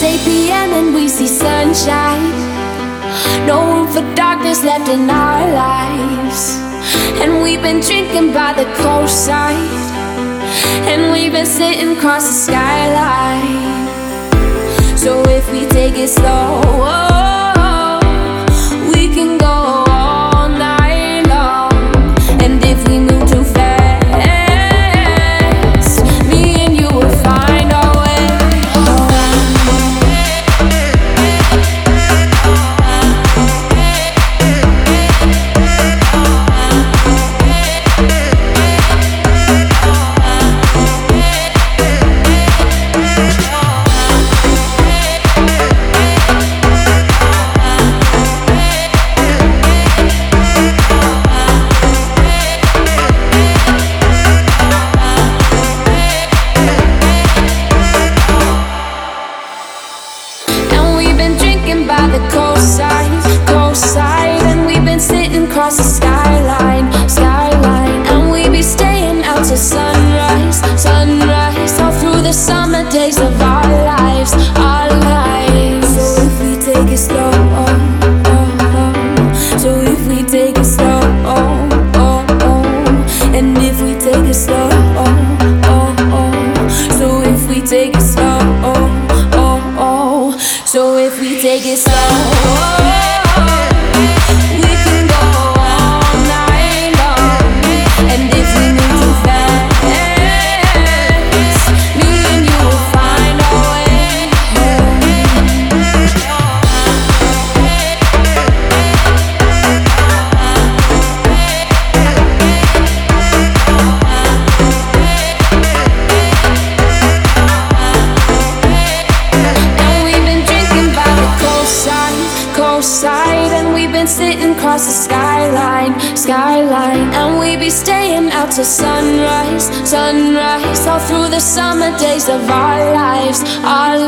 It's 8 p.m. and we see sunshine. No room for darkness left in our lives. And we've been drinking by the coastside, and we've been sitting across the skyline. So if we take it slow, we can go all night long. And if we move too fast, me and you will find our way home. By the coastside, and we've been sitting across the skyline, and we be staying out till sunrise, all through the summer days of our lives, So if we take it slow, so if we take it slow, and if we take it slow, so if we take it slow, so if we take it slow, we can go all night long. And if we move too fast, me and you will find our way coastside, and we've been sitting across the skyline, and we be staying out till sunrise, all through the summer days of our lives,